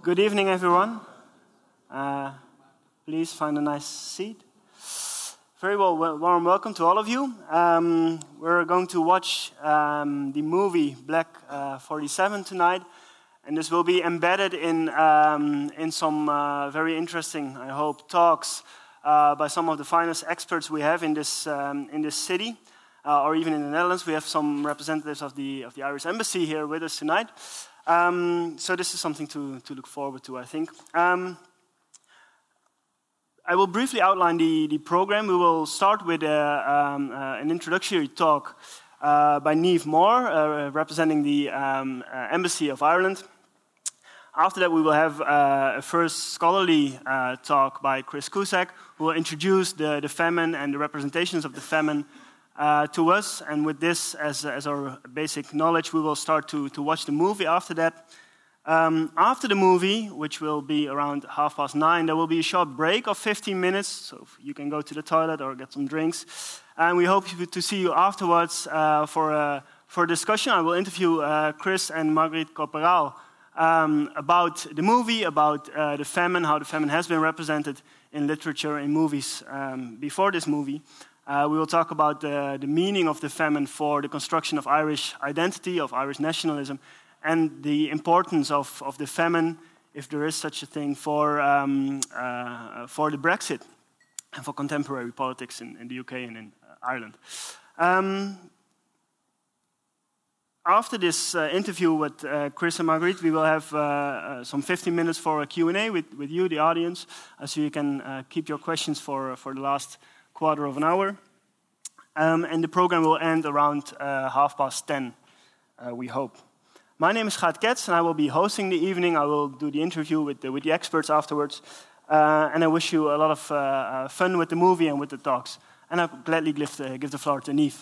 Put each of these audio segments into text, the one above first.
Good evening, everyone. Please find a nice seat. Very well, warm welcome to all of you. We're going to watch the movie Black 47 tonight, and this will be embedded in some very interesting, I hope, talks by some of the finest experts we have in this city, or even in the Netherlands. We have some representatives of the Irish Embassy here with us tonight. So this is something to look forward to, I think. I will briefly outline the program. We will start with an introductory talk by Niamh Moore, representing the Embassy of Ireland. After that, we will have a first scholarly talk by Chris Cusack, who will introduce the famine and the representations of the famine to us. And with this as our basic knowledge, we will start to watch the movie after that. After the movie, which will be around 9:30, there will be a short break of 15 minutes, so you can go to the toilet or get some drinks. And we hope to see you afterwards for a discussion. I will interview Chris and Marguerite Corporal about the movie, about the famine, how the famine has been represented in literature, in movies before this movie. We will talk about the meaning of the famine for the construction of Irish identity, of Irish nationalism, and the importance of the famine, if there is such a thing, for the Brexit and for contemporary politics in the UK and in Ireland. After this interview with Chris and Marguerite, we will have some 15 minutes for a Q&A with you, the audience, so you can keep your questions for the last quarter of an hour. And the program will end around 10:30, we hope. My name is Gaat Ketz, and I will be hosting the evening. I will do the interview with the experts afterwards. And I wish you a lot of fun with the movie and with the talks. And I'll gladly give the floor to Niamh.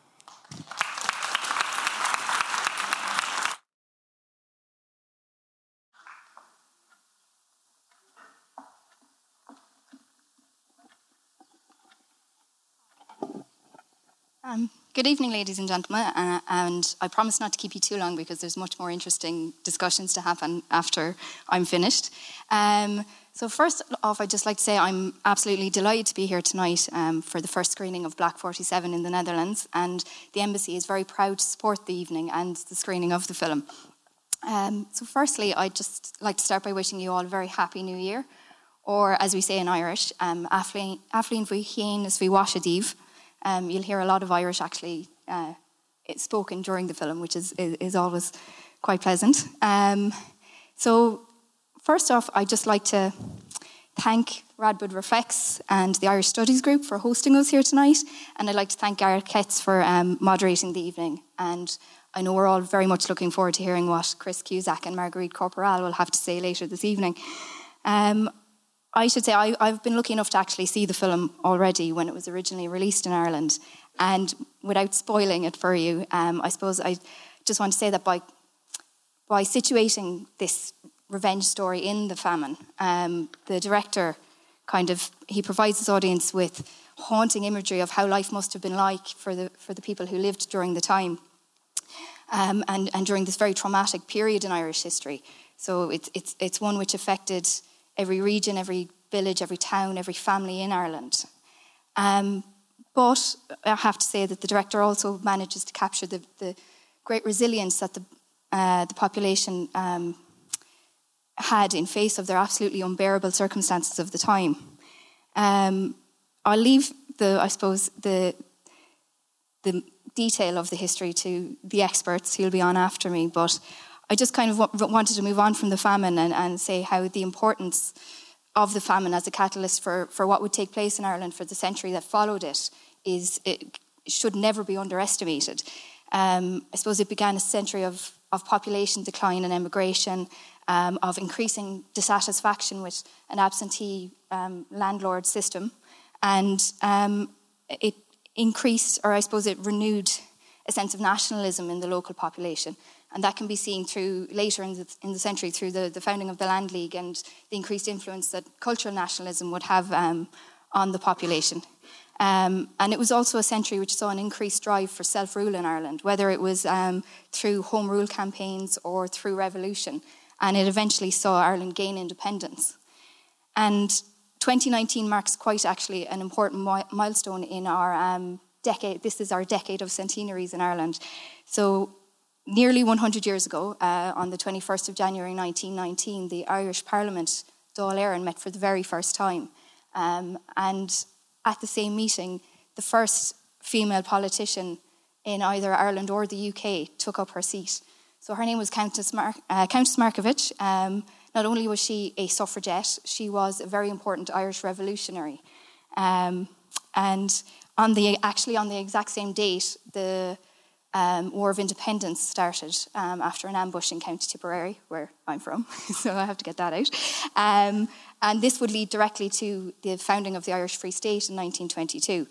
Good evening, ladies and gentlemen, and I promise not to keep you too long because there's much more interesting discussions to happen after I'm finished. So first off, I'd just like to say I'm absolutely delighted to be here tonight for the first screening of Black 47 in the Netherlands, and the Embassy is very proud to support the evening and the screening of the film. So firstly, I'd just like to start by wishing you all a very happy New Year, or as we say in Irish, Athleen Bhuichéan is Bhuashadív. You'll hear a lot of Irish actually spoken during the film, which is always quite pleasant. So first off, I'd just like to thank Radboud Reflects and the Irish Studies Group for hosting us here tonight. And I'd like to thank Gareth Ketz for moderating the evening. And I know we're all very much looking forward to hearing what Chris Cusack and Marguerite Corporal will have to say later this evening. I should say I've been lucky enough to actually see the film already when it was originally released in Ireland. And without spoiling it for you, I suppose I just want to say that by situating this revenge story in the famine, the director he provides his audience with haunting imagery of how life must have been like for the people who lived during the time, and during this very traumatic period in Irish history. So it's one which affected every region, every village, every town, every family in Ireland. But I have to say that the director also manages to capture the great resilience that the population had in face of their absolutely unbearable circumstances of the time. I'll leave the detail of the history to the experts who'll be on after me, but I just kind of wanted to move on from the famine and say how the importance of the famine as a catalyst for what would take place in Ireland for the century that followed it should never be underestimated. I suppose it began a century of population decline and emigration, of increasing dissatisfaction with an absentee landlord system, and it increased, or I suppose it renewed, a sense of nationalism in the local population. And that can be seen through later in the century through the founding of the Land League and the increased influence that cultural nationalism would have on the population. And it was also a century which saw an increased drive for self-rule in Ireland, whether it was through home rule campaigns or through revolution. and it eventually saw Ireland gain independence. And 2019 marks quite actually an important milestone in our decade. This is our decade of centenaries in Ireland. So nearly 100 years ago, on the 21st of January 1919, the Irish Parliament, Dáil Éireann, met for the very first time. And at the same meeting, the first female politician in either Ireland or the UK took up her seat. So her name was Countess Markievicz. Not only was she a suffragette, she was a very important Irish revolutionary. And on the exact same date, the War of Independence started after an ambush in County Tipperary, where I'm from, so I have to get that out. And this would lead directly to the founding of the Irish Free State in 1922.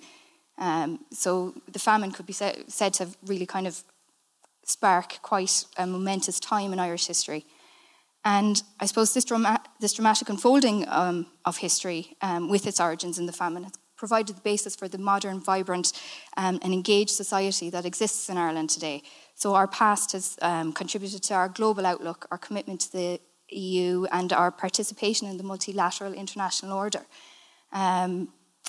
So the famine could be said to have really kind of spark quite a momentous time in Irish history. And I suppose this dramatic unfolding of history with its origins in the famine has provided the basis for the modern, vibrant and engaged society that exists in Ireland today. So our past has contributed to our global outlook, our commitment to the EU, and our participation in the multilateral international order. And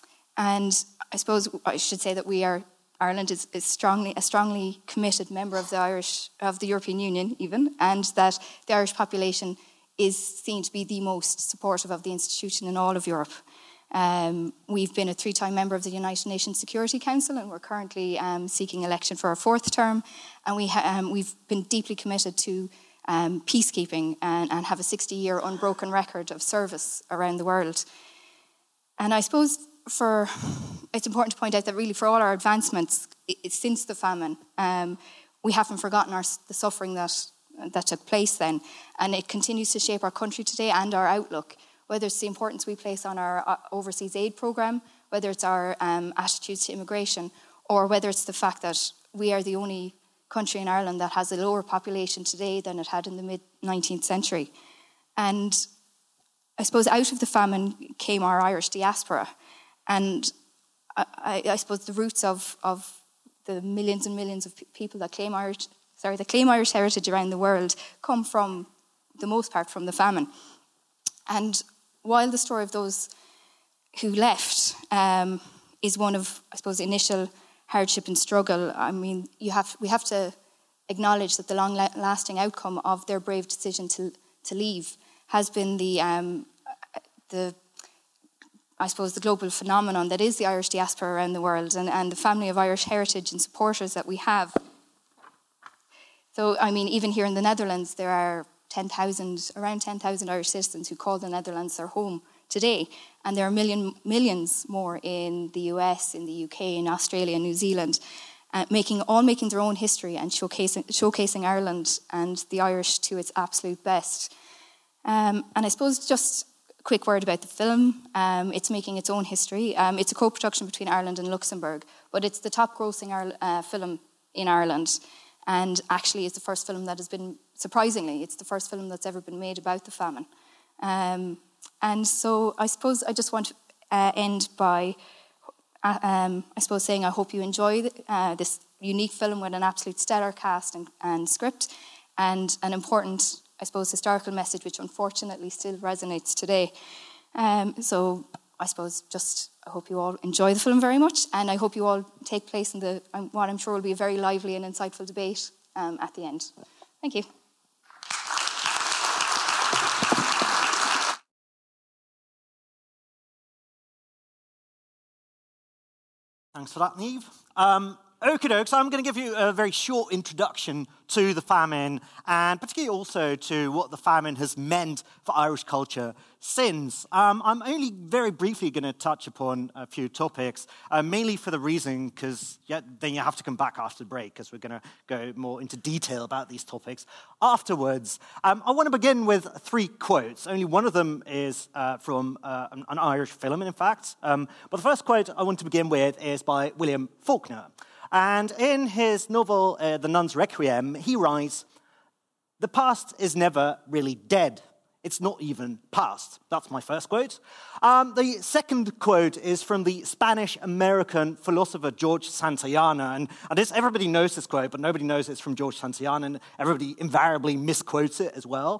I suppose I should say that Ireland is a strongly committed member of the European Union even, and that the Irish population is seen to be the most supportive of the institution in all of Europe. We've been a 3-time member of the United Nations Security Council, and we're currently seeking election for our 4th term. And we've been deeply committed to peacekeeping and have a 60-year unbroken record of service around the world. And I suppose it's important to point out that really for all our advancements since the famine, we haven't forgotten the suffering that took place then, and it continues to shape our country today and our outlook, whether it's the importance we place on our overseas aid programme, whether it's our attitudes to immigration, or whether it's the fact that we are the only country in Ireland that has a lower population today than it had in the mid-19th century. And I suppose out of the famine came our Irish diaspora. And I suppose the roots of the millions and millions of people that claim Irish heritage around the world come from the most part from the famine. And while the story of those who left is one of, I suppose, initial hardship and struggle, I mean, we have to acknowledge that the long-lasting outcome of their brave decision to leave has been the global phenomenon that is the Irish diaspora around the world, and the family of Irish heritage and supporters that we have. So, I mean, even here in the Netherlands, there are around 10,000 Irish citizens who call the Netherlands their home today, and there are millions more in the US, in the UK, in Australia, New Zealand, making their own history and showcasing Ireland and the Irish to its absolute best. And I suppose just a quick word about the film. It's making its own history. It's a co-production between Ireland and Luxembourg, but it's the top-grossing film in Ireland, and actually it's the first film that has been, surprisingly, it's the first film that's ever been made about the famine. And so I suppose I just want to end by, saying I hope you enjoy this unique film with an absolute stellar cast and script, and an important, I suppose, historical message which unfortunately still resonates today. So I suppose I hope you all enjoy the film very much, and I hope you all take place in what I'm sure will be a very lively and insightful debate at the end. Thank you. Thanks for that, Niamh. Okie doke, so I'm going to give you a very short introduction to the famine, and particularly also to what the famine has meant for Irish culture since. I'm only very briefly going to touch upon a few topics, mainly for the reason, because then you have to come back after the break, because we're going to go more into detail about these topics afterwards. I want to begin with 3 quotes. Only one of them is from an Irish film, in fact. But the first quote I want to begin with is by William Faulkner. And in his novel, The Nun's Requiem, he writes, "The past is never really dead. It's not even past." That's my first quote. The second quote is from the Spanish-American philosopher George Santayana. And everybody knows this quote, but nobody knows it's from George Santayana, and everybody invariably misquotes it as well.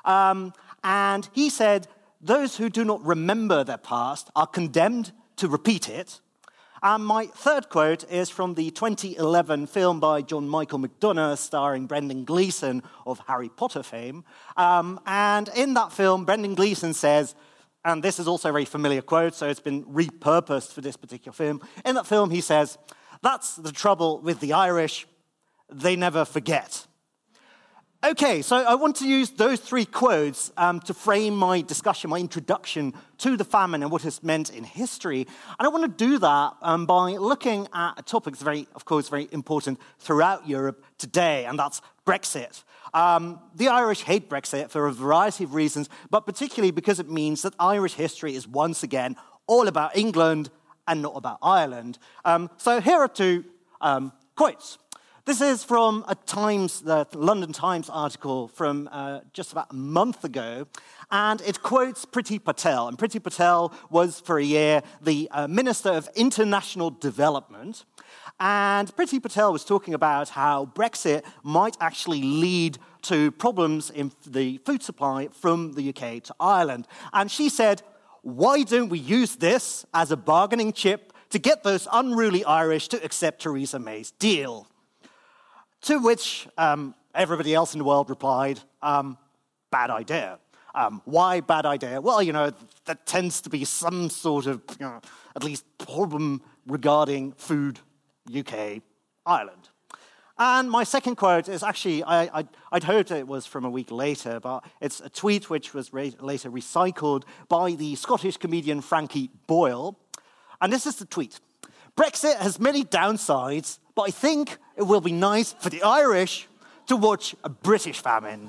And he said, those who do not remember their past are condemned to repeat it. And my third quote is from the 2011 film by John Michael McDonagh starring Brendan Gleeson of Harry Potter fame. And in that film, Brendan Gleeson says, and this is also a very familiar quote, so it's been repurposed for this particular film. In that film, he says, "That's the trouble with the Irish, they never forget." Okay, so I want to use those three quotes to frame my discussion, my introduction to the famine and what it's meant in history. And I want to do that by looking at a topic that's very, of course, very important throughout Europe today, and that's Brexit. The Irish hate Brexit for a variety of reasons, but particularly because it means that Irish history is once again all about England and not about Ireland. So here are two quotes. This is from the London Times article from just about a month ago, and it quotes Priti Patel. And Priti Patel was, for a year, the Minister of International Development. And Priti Patel was talking about how Brexit might actually lead to problems in the food supply from the UK to Ireland. And she said, why don't we use this as a bargaining chip to get those unruly Irish to accept Theresa May's deal? To which everybody else in the world replied, bad idea. Why bad idea? Well, there tends to be some sort of, at least problem regarding food, UK, Ireland. And my second quote is actually, I'd hoped it was from a week later, but it's a tweet which was later recycled by the Scottish comedian Frankie Boyle. And this is the tweet. Brexit has many downsides, but I think it will be nice for the Irish to watch a British famine.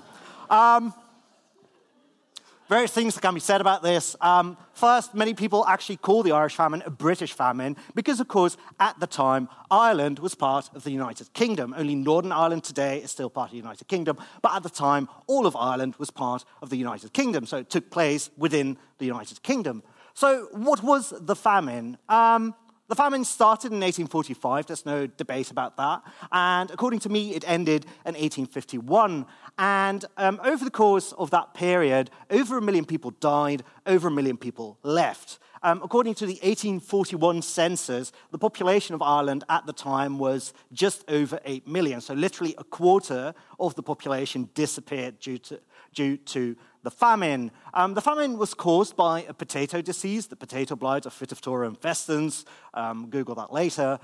Various things that can be said about this. First, many people actually call the Irish famine a British famine because, of course, at the time, Ireland was part of the United Kingdom. Only Northern Ireland today is still part of the United Kingdom, but at the time, all of Ireland was part of the United Kingdom, so it took place within the United Kingdom. So what was the famine? The famine started in 1845, there's no debate about that, and according to me, it ended in 1851. And over the course of that period, over 1 million people died, over 1 million people left. According to the 1841 census, the population of Ireland at the time was just over 8 million, so literally a quarter of the population disappeared due to the famine. The famine was caused by a potato disease, the potato blight of Phytophthora infestans. Google that later.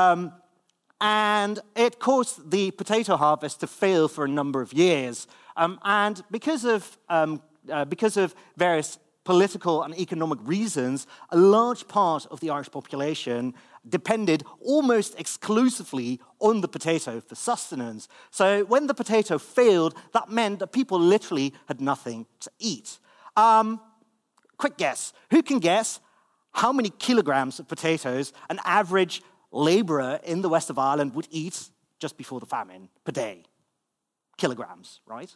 And it caused the potato harvest to fail for a number of years. And because of various political and economic reasons, a large part of the Irish population depended almost exclusively on the potato for sustenance. So when the potato failed, that meant that people literally had nothing to eat. Quick guess. Who can guess how many kilograms of potatoes an average labourer in the west of Ireland would eat just before the famine per day? Kilograms, right?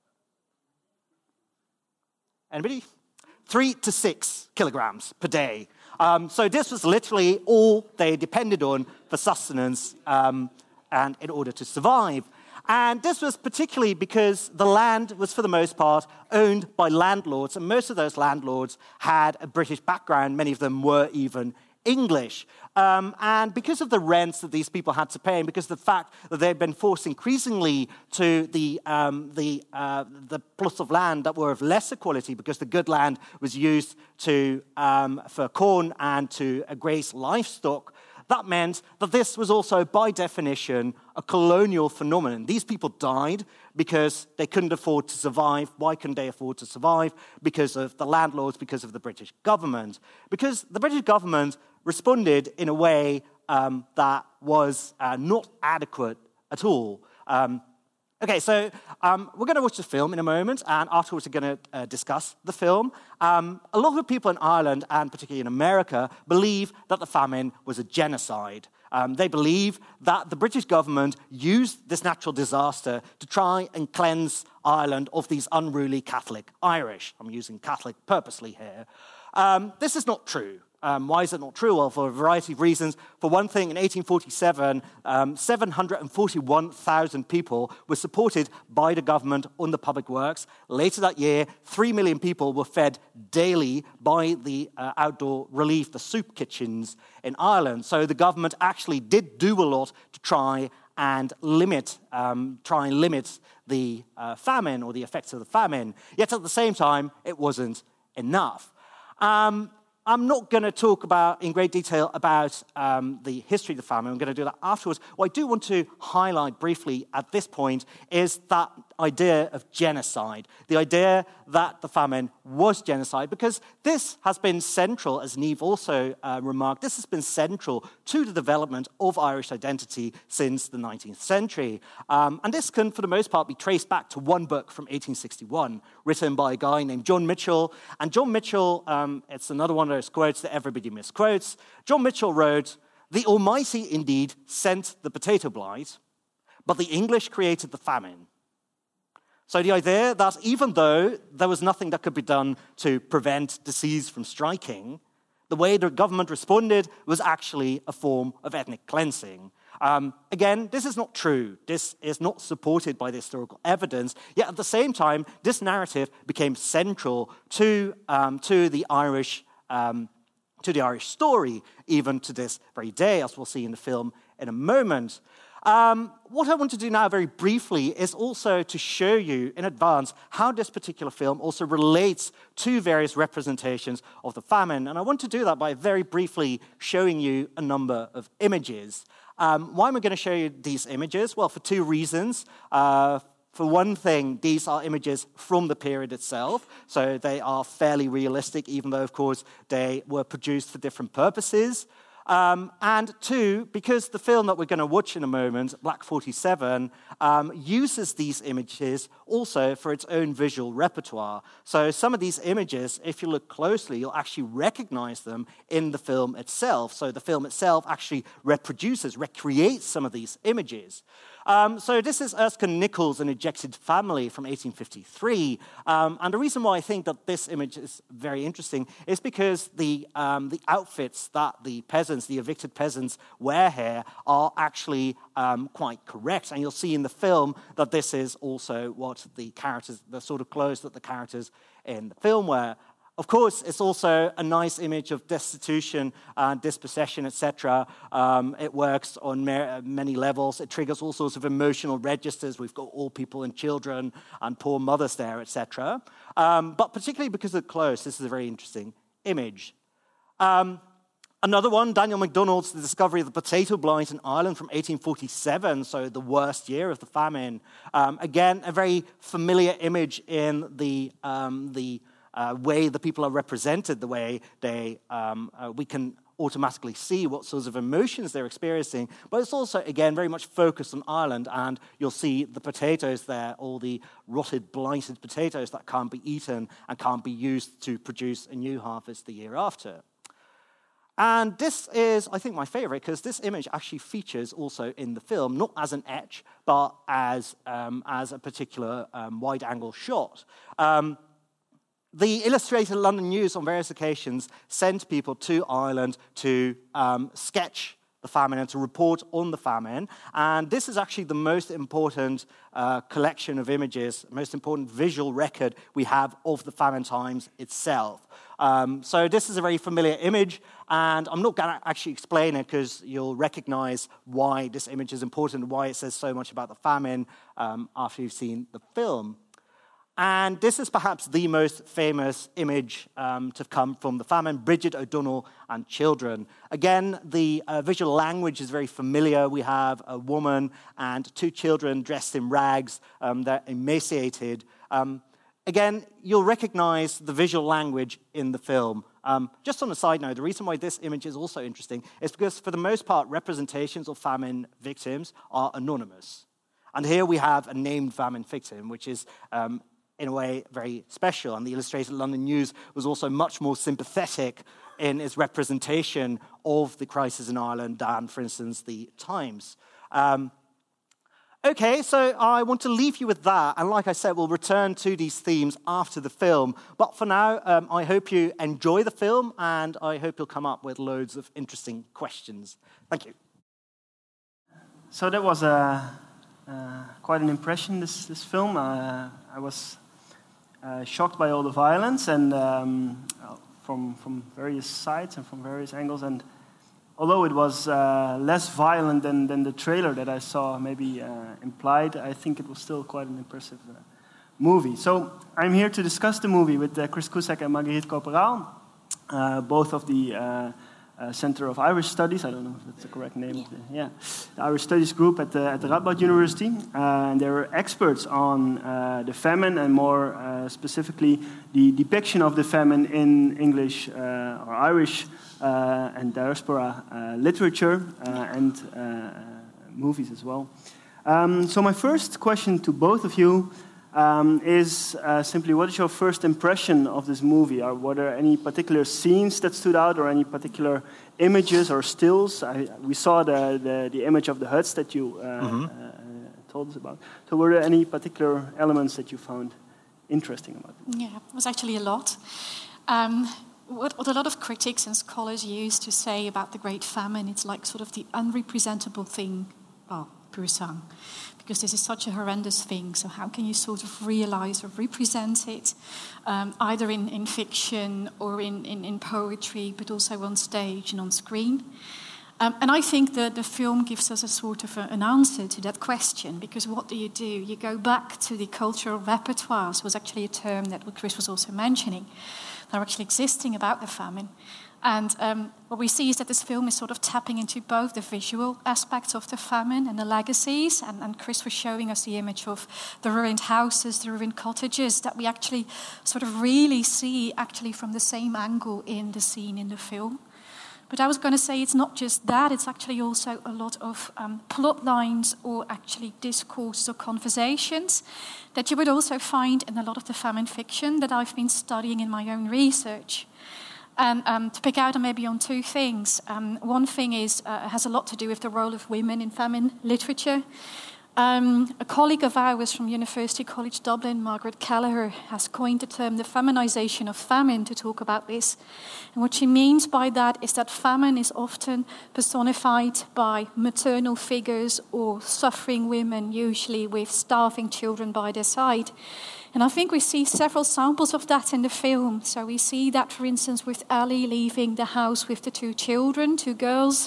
Anybody? 3 to 6 kilograms per day. So this was literally all they depended on for sustenance and in order to survive. And this was particularly because the land was, for the most part, owned by landlords, and most of those landlords had a British background. Many of them were even English. And because of the rents that these people had to pay, and because of the fact that they'd been forced increasingly to the plots of land that were of lesser quality, because the good land was used for corn and to graze livestock, that meant that this was also, by definition, a colonial phenomenon. These people died because they couldn't afford to survive. Why couldn't they afford to survive? Because of the landlords, because of the British government. Because the British government responded in a way that was not adequate at all. Okay, so we're going to watch the film in a moment, and afterwards we're going to discuss the film. A lot of people in Ireland, and particularly in America, believe that the famine was a genocide. They believe that the British government used this natural disaster to try and cleanse Ireland of these unruly Catholic Irish. I'm using Catholic purposely here. This is not true. Why is it not true? Well, for a variety of reasons. For one thing, in 1847, 741,000 people were supported by the government on the public works. Later that year, 3 million people were fed daily by the outdoor relief, the soup kitchens in Ireland. So the government actually did do a lot to try and limit the famine or the effects of the famine. Yet at the same time, it wasn't enough. I'm not going to talk in great detail about the history of the famine. I'm going to do that afterwards. What I do want to highlight briefly at this point is that idea of genocide, the idea that the famine was genocide, because this has been central, as Niamh also remarked, this has been central to the development of Irish identity since the 19th century. And this can, for the most part, be traced back to one book from 1861, written by a guy named John Mitchell. And John Mitchell, it's another one of those quotes that everybody misquotes. John Mitchell wrote, "The Almighty indeed sent the potato blight, but the English created the famine." So the idea that even though there was nothing that could be done to prevent disease from striking, the way the government responded was actually a form of ethnic cleansing. Again, this is not true. This is not supported by the historical evidence. Yet at the same time, this narrative became central to the Irish story, even to this very day, as we'll see in the film in a moment. What I want to do now very briefly is also to show you in advance how this particular film also relates to various representations of the famine. And I want to do that by very briefly showing you a number of images. Why am I going to show you these images? Well, for two reasons. For one thing, these are images from the period itself, so they are fairly realistic, even though, of course, they were produced for different purposes. And two, because the film that we're going to watch in a moment, Black 47, uses these images also for its own visual repertoire. So some of these images, if you look closely, you'll actually recognize them in the film itself. So the film itself actually recreates some of these images. So this is Erskine Nichols' An Ejected Family from 1853. And the reason why I think that this image is very interesting is because the outfits that the evicted peasants wear here are actually quite correct. And you'll see in the film that this is also what the sort of clothes that the characters in the film wear. Of course, it's also a nice image of destitution, dispossession, etc. It works on many levels. It triggers all sorts of emotional registers. We've got old people and children and poor mothers there, etc. But particularly because of the clothes, this is a very interesting image. Another one, Daniel MacDonald's The Discovery of the Potato Blight in Ireland from 1847, so the worst year of the famine. Again, a very familiar image in the way the people are represented, the way we can automatically see what sorts of emotions they're experiencing. But it's also, again, very much focused on Ireland, and you'll see the potatoes there, all the rotted, blighted potatoes that can't be eaten and can't be used to produce a new harvest the year after. And this is, I think, my favorite, because this image actually features also in the film, not as an etch, but as a particular wide-angle shot. The Illustrated London News on various occasions sent people to Ireland to sketch the famine and to report on the famine. And this is actually the most important collection of images, most important visual record we have of the famine times itself. So this is a very familiar image, and I'm not going to actually explain it because you'll recognize why this image is important, why it says so much about the famine after you've seen the film. And this is perhaps the most famous image to come from the famine, Bridget O'Donnell and children. Again, the visual language is very familiar. We have a woman and two children dressed in rags. They're emaciated. Again, you'll recognize the visual language in the film. Just on a side note, the reason why this image is also interesting is because, for the most part, representations of famine victims are anonymous. And here we have a named famine victim, which is in a way very special. And the Illustrated London News was also much more sympathetic in its representation of the crisis in Ireland than, for instance, the Times. Okay, so I want to leave you with that. And like I said, we'll return to these themes after the film. But for now, I hope you enjoy the film, and I hope you'll come up with loads of interesting questions. Thank you. So that was quite an impression, this film. I was shocked by all the violence, and from various sides and from various angles. And although it was less violent than the trailer that I saw maybe implied, I think it was still quite an impressive movie. So I'm here to discuss the movie with Chris Cusack and Marguerite Corporaal, both of the Center of Irish Studies. I don't know if that's the correct name of the Irish Studies group at the Radboud University. And they're experts on the famine, and more specifically the depiction of the famine in English or Irish and diaspora literature and movies as well. So my first question to both of you is simply, what is your first impression of this movie? Or were there any particular scenes that stood out, or any particular images or stills? We saw the image of the huts that you told us about. So were there any particular elements that you found interesting about it? Yeah, it was actually a lot. What a lot of critics and scholars use to say about the Great Famine, it's like sort of the unrepresentable thing, well, pur sang, because this is such a horrendous thing. So how can you sort of realize or represent it, either in fiction or in poetry, but also on stage and on screen? And I think that the film gives us a sort of an answer to that question, because what do? You go back to the cultural repertoires, was actually a term that Chris was also mentioning, that are actually existing about the famine. And what we see is that this film is sort of tapping into both the visual aspects of the famine and the legacies. And Chris was showing us the image of the ruined houses, the ruined cottages, that we actually sort of really see actually from the same angle in the scene in the film. But I was going to say it's not just that, it's actually also a lot of plot lines or actually discourses or conversations that you would also find in a lot of the famine fiction that I've been studying in my own research. And to pick out maybe on two things. One thing is has a lot to do with the role of women in famine literature. A colleague of ours from University College Dublin, Margaret Kelleher, has coined the term the feminization of famine to talk about this. And what she means by that is that famine is often personified by maternal figures or suffering women, usually with starving children by their side. And I think we see several samples of that in the film. So we see that, for instance, with Ellie leaving the house with the two children, two girls.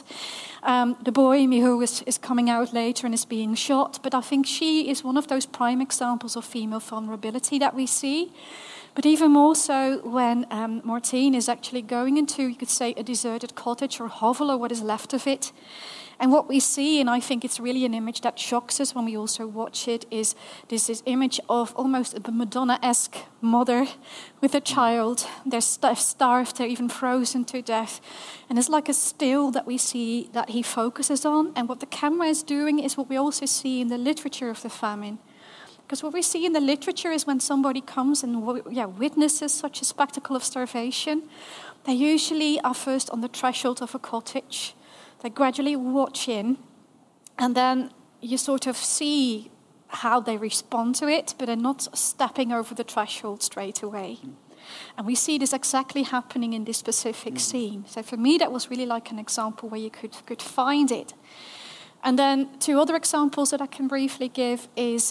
The boy, Miho, is coming out later and is being shot. But I think she is one of those prime examples of female vulnerability that we see. But even more so when Martine is actually going into, you could say, a deserted cottage or hovel or what is left of it. And what we see, and I think it's really an image that shocks us when we also watch it, is this image of almost a Madonna-esque mother with a child. They're starved, they're even frozen to death. And it's like a still that we see that he focuses on. And what the camera is doing is what we also see in the literature of the famine. Because what we see in the literature is when somebody comes and witnesses such a spectacle of starvation, they usually are first on the threshold of a cottage. They gradually watch in, and then you sort of see how they respond to it, but they're not stepping over the threshold straight away. And we see this exactly happening in this specific scene. So for me, that was really like an example where you could find it. And then two other examples that I can briefly give is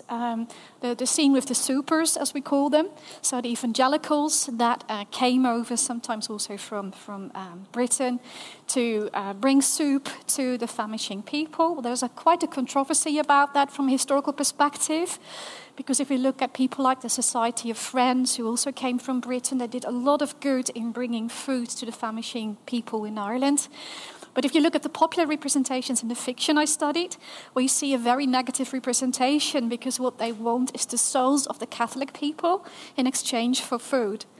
the scene with the supers, as we call them. So the evangelicals that came over, sometimes also from Britain, to bring soup to the famishing people. There's quite a controversy about that from a historical perspective. Because if we look at people like the Society of Friends, who also came from Britain, they did a lot of good in bringing food to the famishing people in Ireland. But if you look at the popular representations in the fiction I studied, we see a very negative representation, because what they want is the souls of the Catholic people in exchange for food.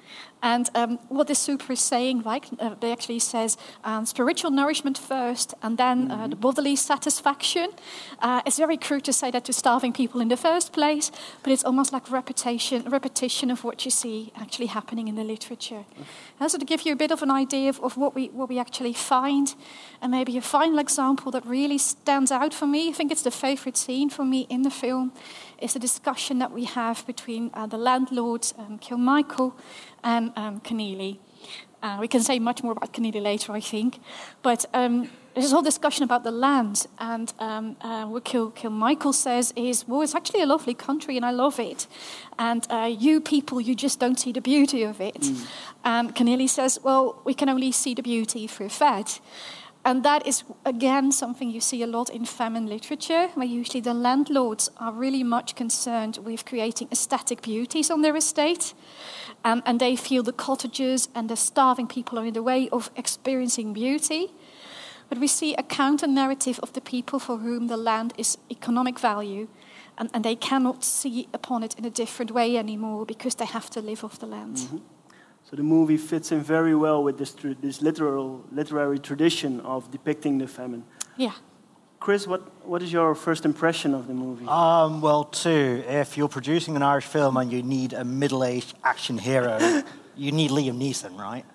And what the super is saying, they actually says spiritual nourishment first, and then the bodily satisfaction. It's very crude to say that to starving people in the first place, but it's almost like repetition of what you see actually happening in the literature. So to give you a bit of an idea of what we actually find, and maybe a final example that really stands out for me, I think it's the favorite scene for me in the film, is a discussion that we have between the landlord, Kilmichael, and Keneally. We can say much more about Keneally later, I think. But there's this whole discussion about the land. And what Kilmichael says is, well, it's actually a lovely country and I love it. And you people, you just don't see the beauty of it. And Keneally says, well, we can only see the beauty if we're fed. And that is, again, something you see a lot in famine literature, where usually the landlords are really much concerned with creating aesthetic beauties on their estate. And they feel the cottagers and the starving people are in the way of experiencing beauty. But we see a counter-narrative of the people for whom the land is economic value, and they cannot see upon it in a different way anymore because they have to live off the land. Mm-hmm. So the movie fits in very well with this literary tradition of depicting the famine. Yeah. Chris, what is your first impression of the movie? Well, too, if you're producing an Irish film and you need a middle-aged action hero, you need Liam Neeson, right?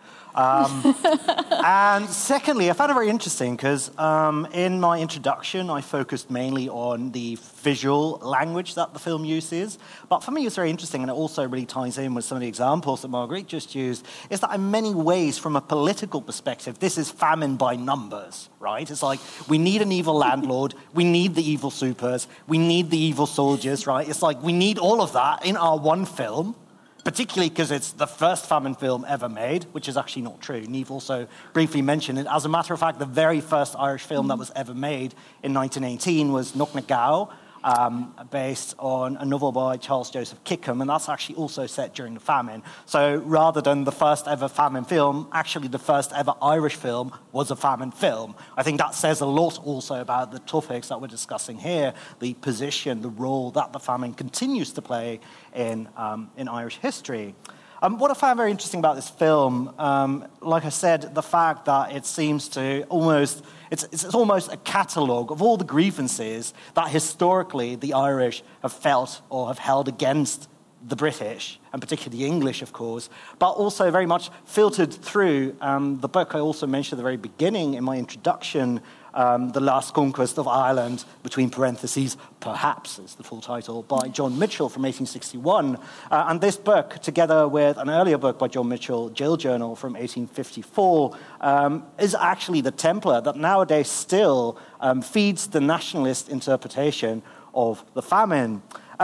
And secondly, I found it very interesting because in my introduction, I focused mainly on the visual language that the film uses. But for me, it's very interesting, and it also really ties in with some of the examples that Marguerite just used, is that in many ways, from a political perspective, this is famine by numbers, right? It's like, we need an evil landlord, we need the evil supers, we need the evil soldiers, right? It's like, we need all of that in our one film, particularly because it's the first famine film ever made, which is actually not true. Niamh also briefly mentioned it. As a matter of fact, the very first Irish film that was ever made in 1918 was Knock na Gao, based on a novel by Charles Joseph Kickham, and that's actually also set during the famine. So rather than the first ever famine film, actually the first ever Irish film was a famine film. I think that says a lot also about the topics that we're discussing here, the position, the role that the famine continues to play in Irish history. What I found very interesting about this film, like I said, the fact that it seems to almost, it's almost a catalogue of all the grievances that historically the Irish have felt or have held against the British, and particularly the English, of course, but also very much filtered through the book I also mentioned at the very beginning in my introduction, The Last Conquest of Ireland, between parentheses, perhaps is the full title, by John Mitchell from 1861. And this book, together with an earlier book by John Mitchell, Jail Journal from 1854, is actually the template that nowadays still feeds the nationalist interpretation of the famine.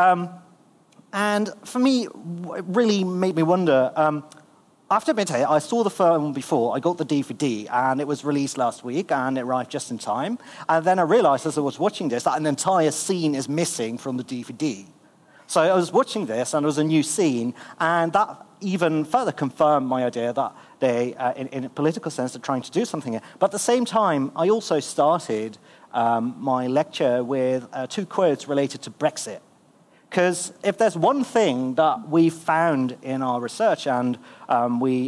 And for me, it really made me wonder, I have to admit, I saw the film before. I got the DVD, and it was released last week, and it arrived just in time. And then I realized as I was watching this that an entire scene is missing from the DVD. So I was watching this, and there was a new scene, and that even further confirmed my idea that they, in a political sense, are trying to do something here. But at the same time, I also started my lecture with 2 quotes related to Brexit. Because if there's one thing that we found in our research, and we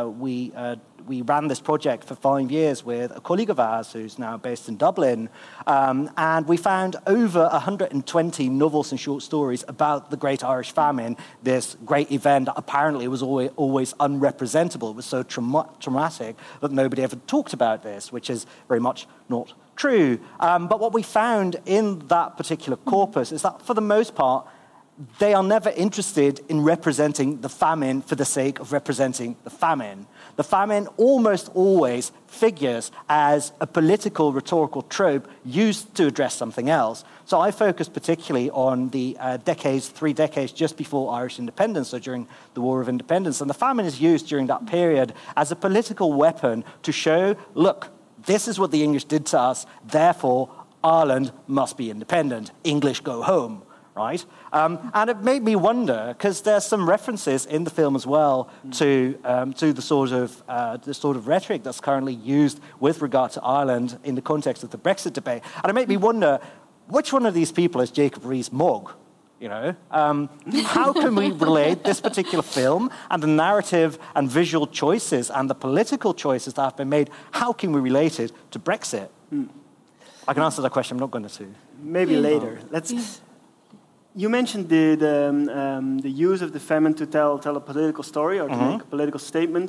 ran this project for 5 years with a colleague of ours who's now based in Dublin, and we found over 120 novels and short stories about the Great Irish Famine, this great event that apparently was always unrepresentable. It was so traumatic that nobody ever talked about this, which is very much not true. But what we found in that particular corpus is that, for the most part, they are never interested in representing the famine for the sake of representing the famine. The famine almost always figures as a political rhetorical trope used to address something else. So I focused particularly on the 3 decades just before Irish independence, so during the War of Independence. And the famine is used during that period as a political weapon to show, look, this is what the English did to us, therefore Ireland must be independent. English go home. Right? And it made me wonder, because there's some references in the film as well to the sort of rhetoric that's currently used with regard to Ireland in the context of the Brexit debate. And it made me wonder, which one of these people is Jacob Rees-Mogg? How can we relate this particular film and the narrative and visual choices and the political choices that have been made, how can we relate it to Brexit? I can answer that question, I'm not going to. Maybe later. You mentioned the use of the famine to tell a political story or to make a political statement.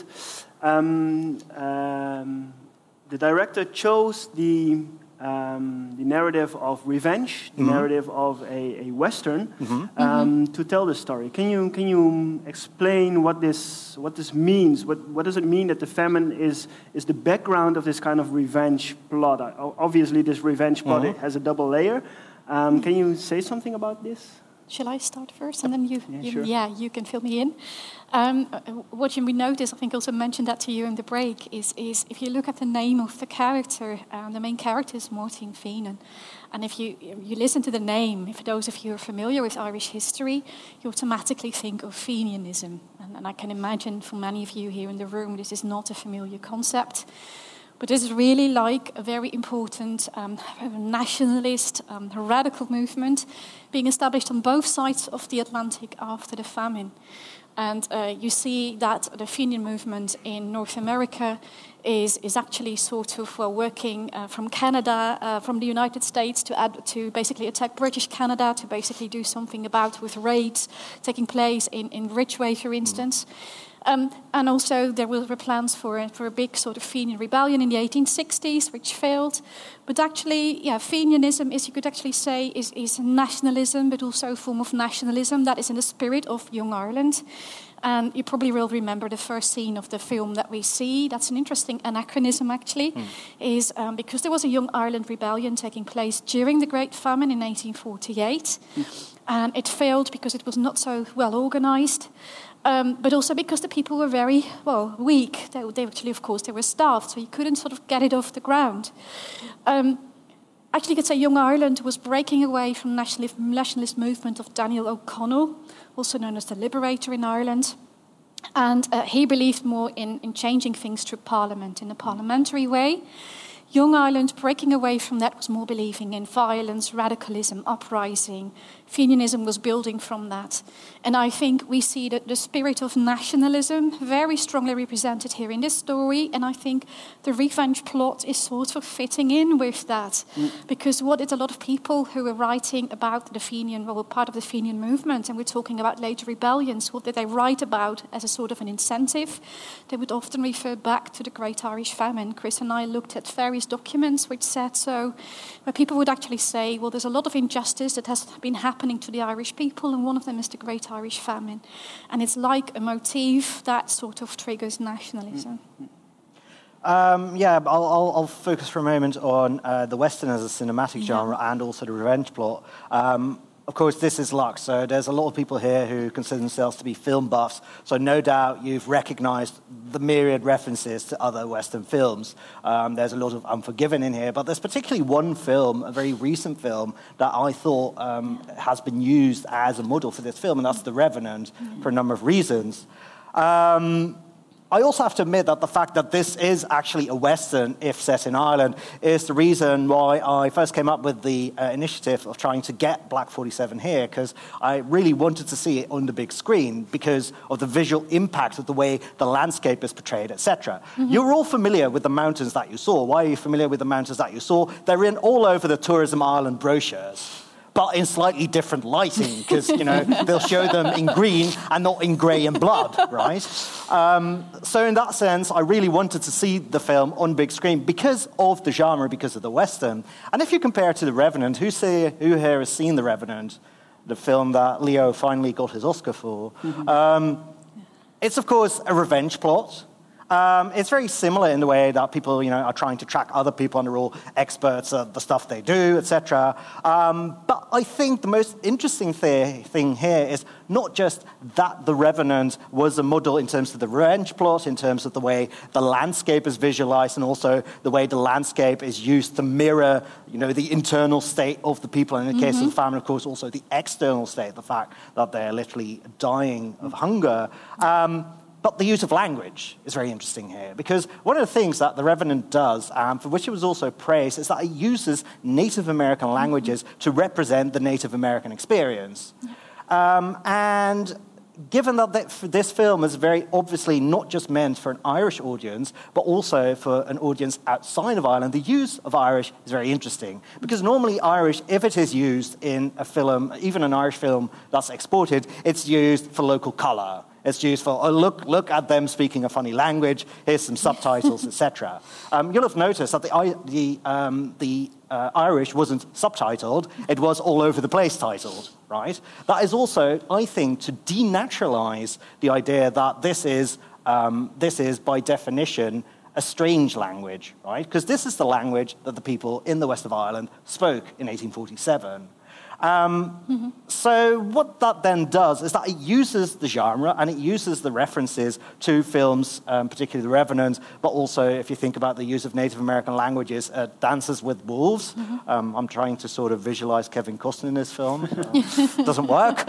The director chose the narrative of revenge, the narrative of a Western, to tell this story. Can you explain what this means? What does it mean that the famine is the background of this kind of revenge plot? Obviously, this revenge plot has a double layer. Can you say something about this? Shall I start first, and then sure. you can fill me in? What you notice, I think I also mentioned that to you in the break, is if you look at the name of the character, the main character is Martin Feenan. And if you listen to the name, for those of you who are familiar with Irish history, you automatically think of Fenianism. And I can imagine for many of you here in the room, this is not a familiar concept. But this is really like a very important nationalist, radical movement being established on both sides of the Atlantic after the famine. And you see that the Fenian movement in North America is actually sort of working from Canada, from the United States to basically attack British Canada, to basically do something about with raids taking place in Ridgeway, for instance. And also there were plans for a big sort of Fenian rebellion in the 1860s, which failed. But actually, Fenianism is, you could actually say, is nationalism, but also a form of nationalism that is in the spirit of Young Ireland. And you probably will remember the first scene of the film that we see. That's an interesting anachronism, actually, is because there was a Young Ireland rebellion taking place during the Great Famine in 1848. And it failed because it was not so well organized. But also because the people were very, weak. They actually, of course, they were starved, so you couldn't sort of get it off the ground. Actually, you could say Young Ireland was breaking away from nationalist movement of Daniel O'Connell, also known as the Liberator in Ireland. And he believed more in changing things through Parliament, in a parliamentary way. Young Ireland, breaking away from that, was more believing in violence, radicalism, uprising. Fenianism was building from that. And I think we see that the spirit of nationalism very strongly represented here in this story. And I think the revenge plot is sort of fitting in with that. Because what did a lot of people who were writing about the Fenian, were part of the Fenian movement, and we're talking about later rebellions, what did they write about as a sort of an incentive? They would often refer back to the Great Irish Famine. Chris and I looked at various documents which said so, where people would actually say, well, there's a lot of injustice that has been happening to the Irish people, and one of them is the Great Irish Famine. And it's like a motif that sort of triggers nationalism. I'll focus for a moment on the Western as a cinematic genre and also the revenge plot. Of course, this is Lux, so there's a lot of people here who consider themselves to be film buffs, so no doubt you've recognized the myriad references to other Western films. There's a lot of Unforgiven in here, but there's particularly one film, a very recent film, that I thought has been used as a model for this film, and that's The Revenant, for a number of reasons. I also have to admit that the fact that this is actually a Western, if set in Ireland, is the reason why I first came up with the initiative of trying to get Black 47 here, because I really wanted to see it on the big screen because of the visual impact of the way the landscape is portrayed, etc. You're all familiar with the mountains that you saw. Why are you familiar with the mountains that you saw? They're in all over the Tourism Ireland brochures, but in slightly different lighting, because, they'll show them in green and not in grey and blood, right? So in that sense, I really wanted to see the film on big screen because of the genre, because of the Western. And if you compare it to The Revenant, who here has seen The Revenant, the film that Leo finally got his Oscar for? It's, of course, a revenge plot. It's very similar in the way that people, are trying to track other people and they're all experts at the stuff they do, etc. But I think the most interesting thing here is not just that The Revenant was a model in terms of the revenge plot, in terms of the way the landscape is visualized, and also the way the landscape is used to mirror, the internal state of the people. And in the case of the famine, of course, also the external state, the fact that they're literally dying of hunger. But the use of language is very interesting here, because one of the things that The Revenant does, for which it was also praised, is that it uses Native American languages to represent the Native American experience. And given that this film is very obviously not just meant for an Irish audience, but also for an audience outside of Ireland, the use of Irish is very interesting. Because normally Irish, if it is used in a film, even an Irish film that's exported, it's used for local colour. It's used for, oh, look at them speaking a funny language, here's some subtitles, etc. You'll have noticed that the Irish wasn't subtitled, it was all over the place titled, right? That is also, I think, to denaturalize the idea that this is by definition, a strange language, right? Because this is the language that the people in the west of Ireland spoke in 1847. So what that then does is that it uses the genre and it uses the references to films, particularly The Revenant, but also if you think about the use of Native American languages, Dances with Wolves. I'm trying to sort of visualize Kevin Costner in this film. Doesn't work.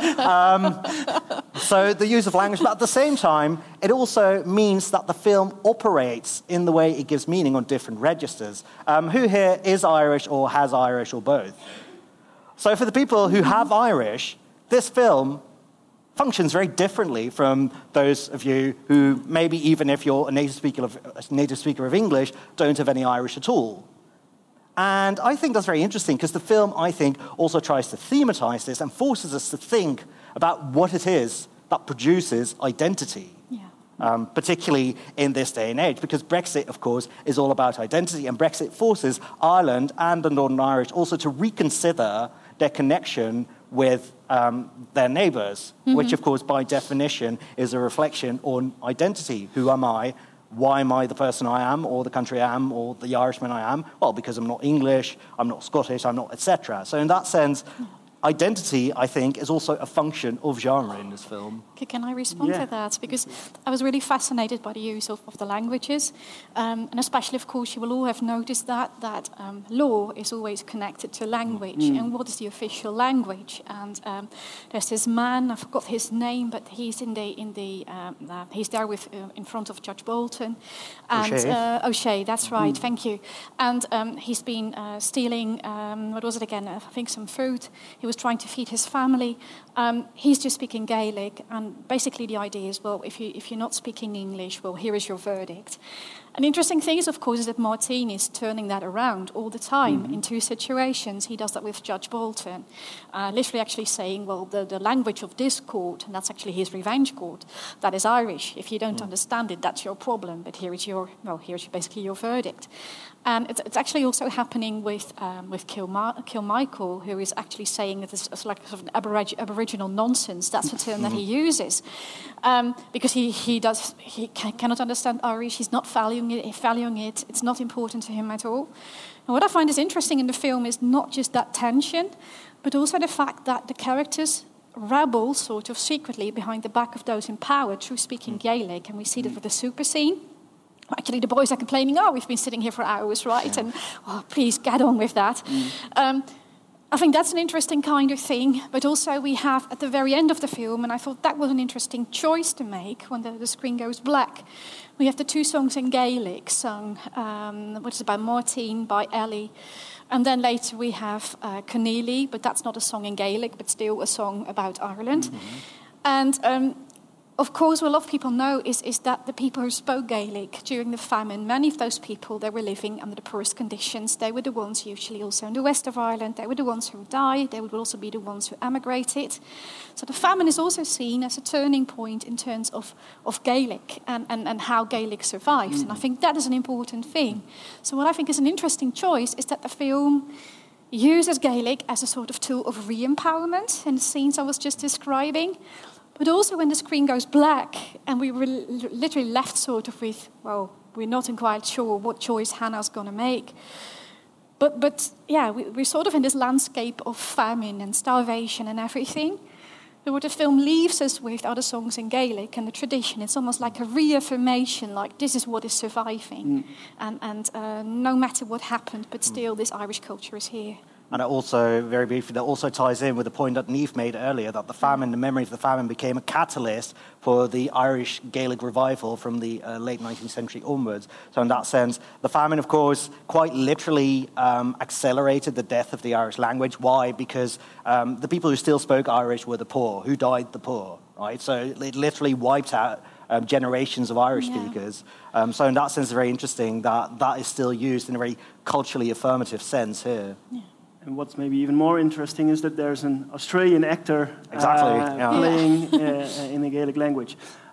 So the use of language, but at the same time, it also means that the film operates in the way it gives meaning on different registers. Who here is Irish or has Irish or both? So for the people who have Irish, this film functions very differently from those of you who maybe even if you're a native speaker of English, don't have any Irish at all. And I think that's very interesting because the film, I think, also tries to thematize this and forces us to think about what it is that produces identity. Particularly in this day and age, because Brexit, of course, is all about identity, and Brexit forces Ireland and the Northern Irish also to reconsider their connection with their neighbours, which, of course, by definition, is a reflection on identity. Who am I? Why am I the person I am, or the country I am, or the Irishman I am? Well, because I'm not English, I'm not Scottish, I'm not, etc. So in that sense, identity, I think, is also a function of genre in this film. Can I respond to that? Because I was really fascinated by the use of the languages. And especially, of course, you will all have noticed that law is always connected to language. And what is the official language? And there's this man, I forgot his name, but he's he's there with in front of Judge Bolton. And O'Shea, that's right, thank you. And he's been stealing, what was it again? I think some fruit. He was trying to feed his family. He's just speaking Gaelic, and basically the idea is, well, if you're not speaking English, well, here is your verdict. An interesting thing is, of course, is that Martin is turning that around all the time in two situations. He does that with Judge Bolton, literally actually saying, well, the language of this court, and that's actually his revenge court, that is Irish. If you don't understand it, that's your problem, but here's basically your verdict. And it's actually also happening with Kilmichael, who is actually saying that it's like sort of aboriginal nonsense. That's the term that he uses, because he cannot understand Irish. He's not valuing it. It's not important to him at all. And what I find is interesting in the film is not just that tension, but also the fact that the characters rebel sort of secretly behind the back of those in power through speaking Gaelic, and we see that with the super scene. Actually, the boys are complaining, we've been sitting here for hours, right? And, please, get on with that. I think that's an interesting kind of thing. But also we have, at the very end of the film, and I thought that was an interesting choice to make when the screen goes black, we have the two songs in Gaelic sung, which is by Martin, by Ellie. And then later we have Conneely, but that's not a song in Gaelic, but still a song about Ireland. And of course, what a lot of people know is that the people who spoke Gaelic during the famine, many of those people, they were living under the poorest conditions. They were the ones usually also in the west of Ireland. They were the ones who died. They would also be the ones who emigrated. So the famine is also seen as a turning point in terms of Gaelic and how Gaelic survived. And I think that is an important thing. So what I think is an interesting choice is that the film uses Gaelic as a sort of tool of re-empowerment in the scenes I was just describing. But also when the screen goes black and we were literally left sort of with, well, we're not quite sure what choice Hannah's going to make. But we're sort of in this landscape of famine and starvation and everything. But what the film leaves us with are the songs in Gaelic and the tradition. It's almost like a reaffirmation, like this is what is surviving. And no matter what happened, but still this Irish culture is here. And it also, very briefly, that also ties in with the point that Niamh made earlier, that the famine, the memory of the famine became a catalyst for the Irish Gaelic revival from the late 19th century onwards. So in that sense, the famine, of course, quite literally accelerated the death of the Irish language. Why? Because the people who still spoke Irish were the poor, who died the poor, right? So it literally wiped out generations of Irish speakers. So in that sense, it's very interesting that that is still used in a very culturally affirmative sense here. Yeah. And what's maybe even more interesting is that there's an Australian actor Exactly, playing in the Gaelic language.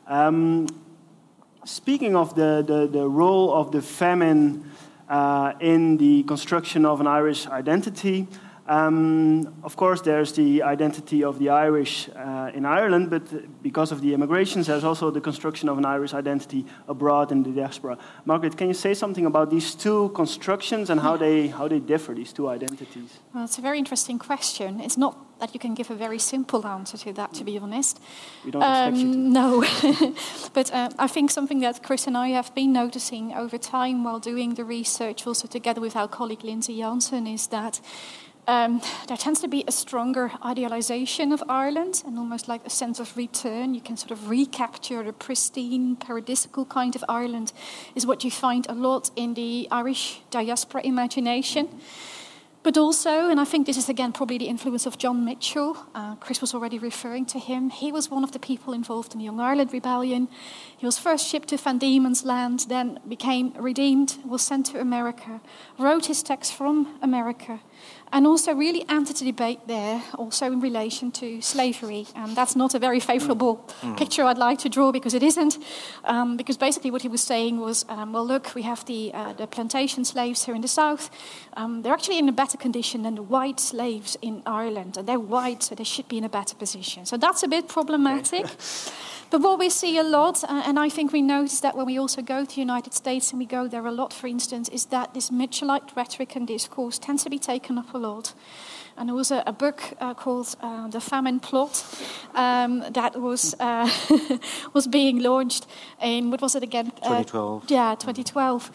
Speaking of the role of the famine in the construction of an Irish identity, of course, there's the identity of the Irish in Ireland, but because of the immigrations, there's also the construction of an Irish identity abroad in the diaspora. Margaret, can you say something about these two constructions and how they differ, these two identities? Well, it's a very interesting question. It's not that you can give a very simple answer to that, to be honest. We don't expect you to. No. But I think something that Chris and I have been noticing over time while doing the research, also together with our colleague Lindsay Janssen, is that there tends to be a stronger idealization of Ireland and almost like a sense of return. You can sort of recapture the pristine, paradisical kind of Ireland is what you find a lot in the Irish diaspora imagination. But also, and I think this is again probably the influence of John Mitchell, Chris was already referring to him, he was one of the people involved in the Young Ireland Rebellion. He was first shipped to Van Diemen's Land, then became redeemed, was sent to America, wrote his text from America, and also really entered the debate there, also in relation to slavery. And that's not a very favourable picture I'd like to draw, because it isn't. Because basically what he was saying was, well, look, we have the plantation slaves here in the south. They're actually in a better condition than the white slaves in Ireland. And they're white, so they should be in a better position. So that's a bit problematic. But what we see a lot, and I think we notice that when we also go to the United States, and we go there a lot, for instance, is that this Mitchellite rhetoric and discourse tends to be taken up a lot. And there was a book called The Famine Plot that was was being launched in, what was it again? 2012. 2012.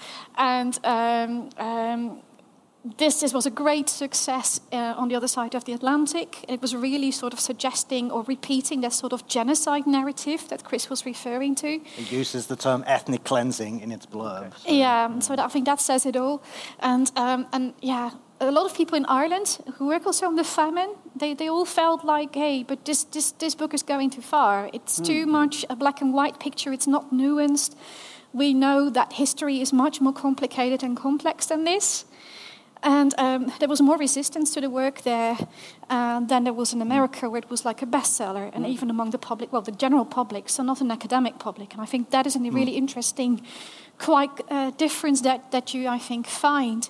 And this was a great success on the other side of the Atlantic. It was really sort of suggesting or repeating that sort of genocide narrative that Chris was referring to. It uses the term ethnic cleansing in its blurb. So. Yeah, so I think that says it all. And yeah, a lot of people in Ireland who work also on the famine, they all felt like, hey, but this book is going too far. It's too much a black and white picture. It's not nuanced. We know that history is much more complicated and complex than this. And there was more resistance to the work there than there was in America, where it was like a bestseller, and even among the public, well, the general public, so not an academic public. And I think that is a really interesting, quite difference that you, I think, find.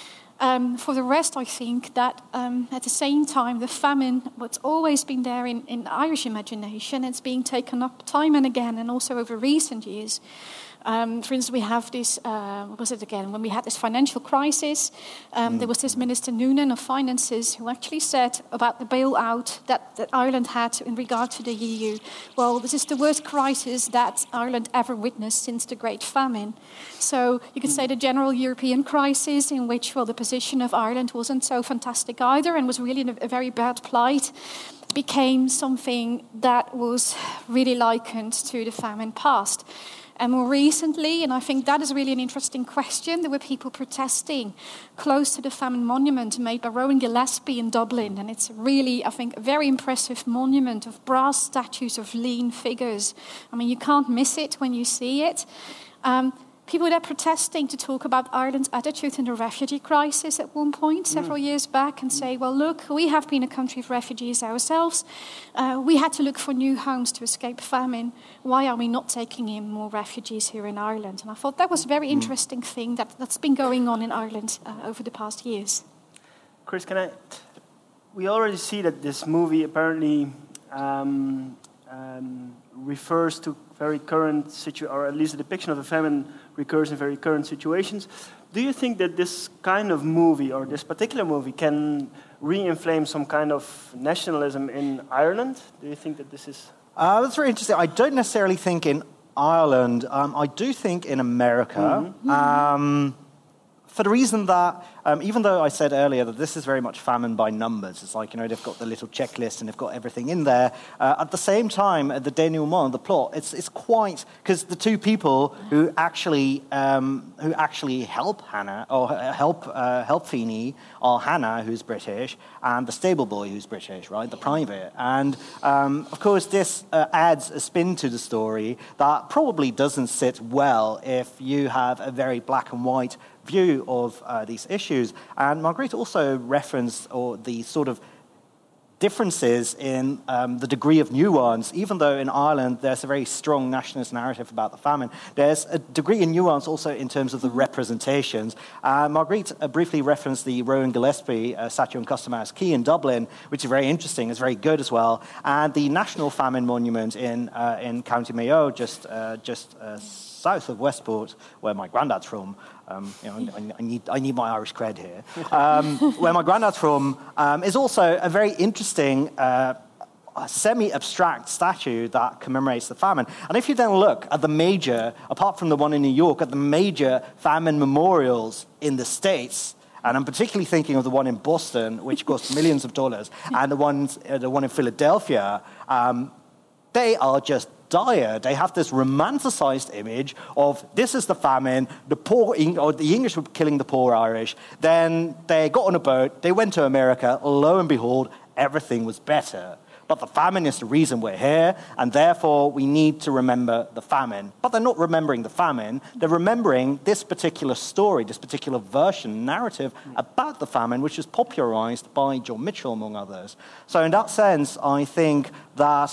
For the rest, I think that at the same time, the famine, what's always been there in Irish imagination, it's being taken up time and again, and also over recent years. For instance, we have this, what was it again? When we had this financial crisis, there was this Minister Noonan of Finances who actually said about the bailout that Ireland had in regard to the EU, well, this is the worst crisis that Ireland ever witnessed since the Great Famine. So you could say the general European crisis in which, well, the position of Ireland wasn't so fantastic either and was really in a very bad plight, became something that was really likened to the famine past. And more recently, and I think that is really an interesting question, there were people protesting close to the famine monument made by Rowan Gillespie in Dublin. And it's really, I think, a very impressive monument of brass statues of lean figures. I mean, you can't miss it when you see it. People there protesting to talk about Ireland's attitude in the refugee crisis at one point, several years back, and say, well, look, we have been a country of refugees ourselves. We had to look for new homes to escape famine. Why are we not taking in more refugees here in Ireland? And I thought that was a very interesting thing that's been going on in Ireland over the past years. Chris, we already see that this movie apparently refers to very current or at least the depiction of the famine recurs in very current situations. Do you think that this kind of movie or this particular movie can re-inflame some kind of nationalism in Ireland? Do you think that this is... That's very interesting. I don't necessarily think in Ireland. I do think in America. for the reason that, even though I said earlier that this is very much famine by numbers, it's like, they've got the little checklist and they've got everything in there. At the same time, the denouement, the plot, it's quite, because the two people who actually help Hannah, or help Feeney, are Hannah, who's British, and the stable boy, who's British, right, the private. And, of course, this adds a spin to the story that probably doesn't sit well if you have a very black and white view of these issues. And Marguerite also referenced the sort of differences in the degree of nuance. Even though in Ireland there's a very strong nationalist narrative about the famine, there's a degree in nuance also in terms of the representations. Marguerite briefly referenced the Rowan Gillespie statue on Custom House Quay in Dublin, which is very interesting, it's very good as well. And the National Famine Monument in County Mayo, just south of Westport, where my granddad's from. I need my Irish cred here. Where my granddad's from is also a very interesting semi-abstract statue that commemorates the famine. And if you then look at the major, apart from the one in New York, at the major famine memorials in the States, and I'm particularly thinking of the one in Boston, which cost millions of dollars, and the one in Philadelphia, they are just dire. They have this romanticized image of this is the famine, the English were killing the poor Irish, then they got on a boat, they went to America, lo and behold, everything was better. But the famine is the reason we're here, and therefore we need to remember the famine. But they're not remembering the famine, they're remembering this particular story, this particular narrative about the famine, which was popularized by John Mitchell, among others. So in that sense, I think that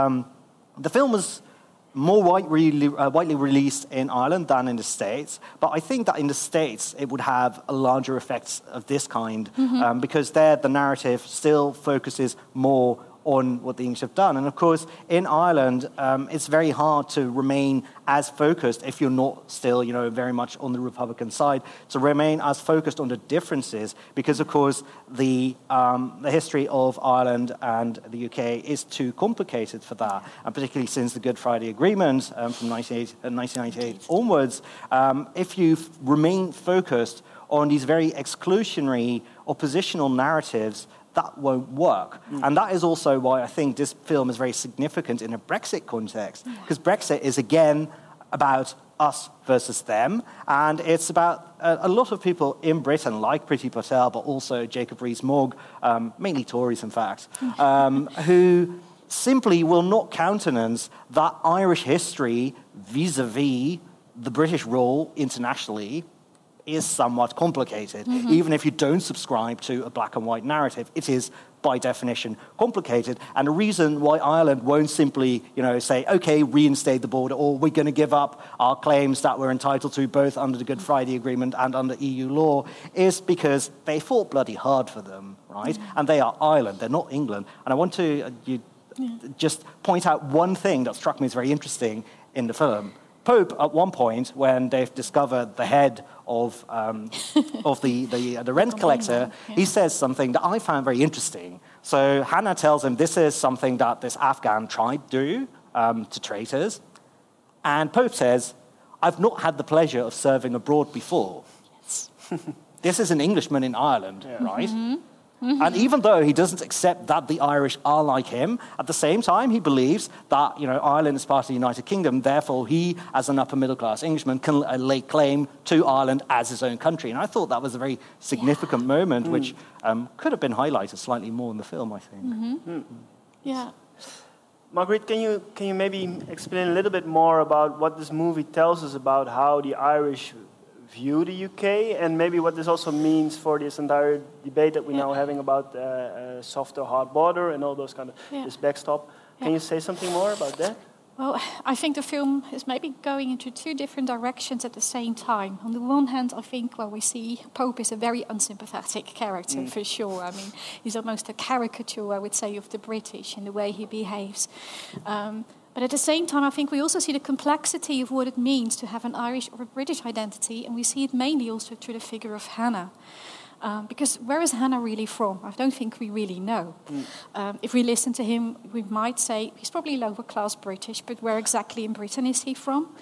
the film was more widely released in Ireland than in the States, but I think that in the States it would have a larger effects of this kind, because there the narrative still focuses more on what the English have done. And of course, in Ireland, it's very hard to remain as focused if you're not still, very much on the Republican side, to remain as focused on the differences, because of course the history of Ireland and the UK is too complicated for that, and particularly since the Good Friday Agreement from 1998 onwards, if you remain focused on these very exclusionary oppositional narratives, that won't work. And that is also why I think this film is very significant in a Brexit context, because Brexit is, again, about us versus them, and it's about a lot of people in Britain, like Priti Patel, but also Jacob Rees-Mogg, mainly Tories, in fact, who simply will not countenance that Irish history vis-a-vis the British role internationally is somewhat complicated. Even if you don't subscribe to a black and white narrative, it is by definition complicated. And the reason why Ireland won't simply, say, okay, reinstate the border, or we're going to give up our claims that we're entitled to both under the Good Friday Agreement and under EU law, is because they fought bloody hard for them, right? And they are Ireland, they're not England. And I want to just point out one thing that struck me as very interesting in the film. Pope, at one point, when they've discovered the head of the rent collector, he says something that I found very interesting. So Hannah tells him this is something that this Afghan tribe do to traitors. And Pope says, I've not had the pleasure of serving abroad before. Yes. This is an Englishman in Ireland, right? And even though he doesn't accept that the Irish are like him, at the same time he believes that Ireland is part of the United Kingdom, therefore he, as an upper middle class Englishman, can lay claim to Ireland as his own country. And I thought that was a very significant moment, which could have been highlighted slightly more in the film, I think. Yeah. Marguerite, can you maybe explain a little bit more about what this movie tells us about how the Irish view the UK, and maybe what this also means for this entire debate that we're now having about soft or hard border and all those kind of this backstop. Can you say something more about that? Well, I think the film is maybe going into two different directions at the same time. On the one hand, I think, we see Pope is a very unsympathetic character, for sure. I mean, he's almost a caricature, I would say, of the British in the way he behaves. But at the same time, I think we also see the complexity of what it means to have an Irish or a British identity, and we see it mainly also through the figure of Hannah. Because where is Hannah really from? I don't think we really know. If we listen to him, we might say he's probably lower class British, but where exactly in Britain is he from?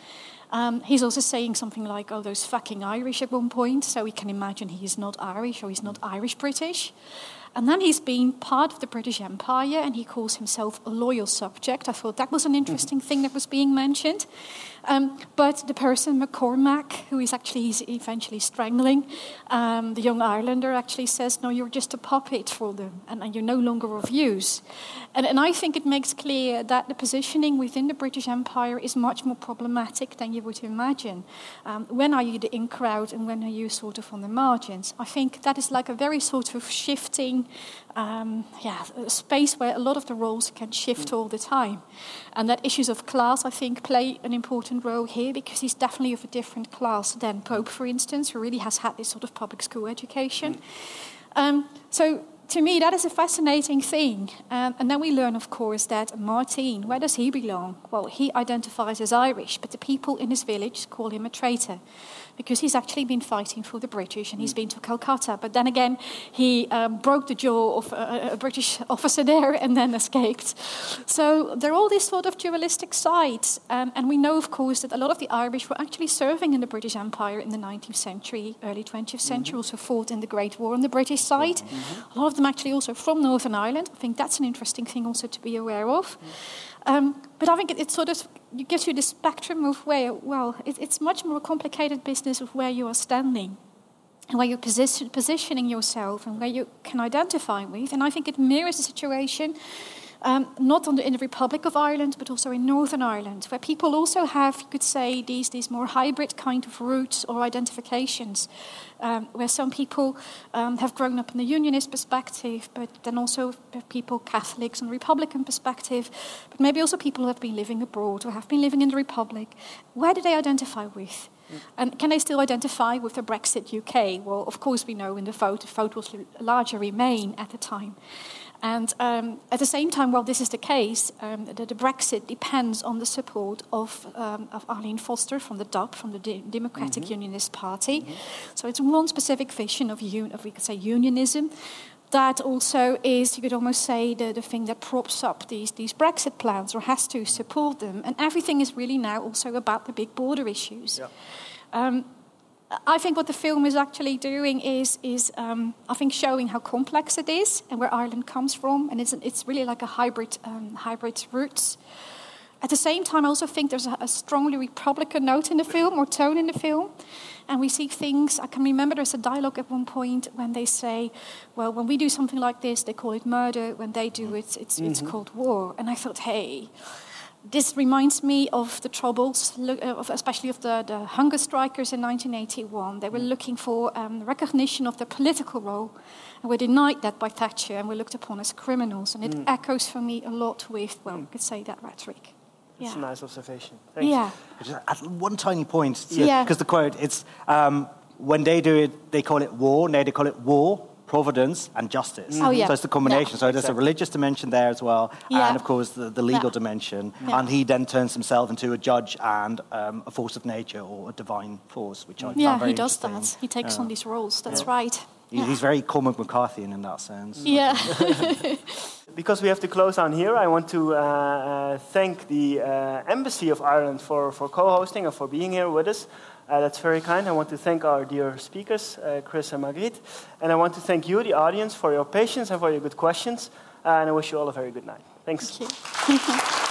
He's also saying something like, oh, those fucking Irish at one point, so we can imagine he is not Irish or he's not Irish-British. And then he's been part of the British Empire and he calls himself a loyal subject. I thought that was an interesting thing that was being mentioned. But the person, McCormack, who he's eventually strangling, the young Irelander actually says, no, you're just a puppet for them and you're no longer of use. And I think it makes clear that the positioning within the British Empire is much more problematic than you would imagine. When are you the in crowd and when are you sort of on the margins? I think that is like a very sort of shifting a space where a lot of the roles can shift all the time. And that issues of class, I think, play an important role here because he's definitely of a different class than Pope, for instance, who really has had this sort of public school education. So to me, that is a fascinating thing. And then we learn, of course, that Martin, where does he belong? Well, he identifies as Irish, but the people in his village call him a traitor because he's actually been fighting for the British and he's been to Calcutta. But then again, he broke the jaw of a British officer there and then escaped. So there are all these sort of dualistic sides. And we know, of course, that a lot of the Irish were actually serving in the British Empire in the 19th century, early 20th century, also fought in the Great War on the British side. A lot of them actually also from Northern Ireland. I think that's an interesting thing also to be aware of. But I think it sort of gives you the spectrum of where, well, it's much more complicated business of where you are standing and where you're positioning yourself and where you can identify with. And I think it mirrors the situation not in the Republic of Ireland, but also in Northern Ireland, where people also have, you could say, these more hybrid kind of roots or identifications, where some people have grown up in the Unionist perspective, but then also people, Catholics, and Republican perspective, but maybe also people who have been living abroad or have been living in the Republic. Where do they identify with? And can they still identify with the Brexit UK? Well, of course, we know in the vote was larger Remain at the time. And at the same time, while this is the case, the Brexit depends on the support of Arlene Foster from the DUP, from the Democratic Unionist Party. So it's one specific vision of we could say, unionism. That also is, you could almost say, the thing that props up these Brexit plans or has to support them. And everything is really now also about the big border issues. Yeah. I think what the film is actually doing is I think showing how complex it is and where Ireland comes from, and it's really like a hybrid roots. At the same time, I also think there's a strongly Republican note in the film or tone in the film, and we see things. I can remember there's a dialogue at one point when they say, "Well, when we do something like this, they call it murder. When they do it, it's called war." And I thought, hey. This reminds me of the troubles, especially of the hunger strikers in 1981. They were looking for recognition of their political role, and were denied that by Thatcher, and were looked upon as criminals. And it echoes for me a lot with, well, you could say that rhetoric. That's a nice observation. Thanks. Yeah. Just add one tiny point, because the quote, it's, when they do it, they call it war, now they call it war, providence and justice. Oh, yeah. So it's the combination. So there's a religious dimension there as well, and of course the legal dimension. Yeah. And he then turns himself into a judge and a force of nature or a divine force, which I found very he does interesting. that. He takes on these roles. That's right. He's very Cormac McCarthyan in that sense. Yeah. Because we have to close down here, I want to thank the Embassy of Ireland for co-hosting and for being here with us. That's very kind. I want to thank our dear speakers, Chris and Margriet. And I want to thank you, the audience, for your patience and for your good questions. And I wish you all a very good night. Thanks. Thank you.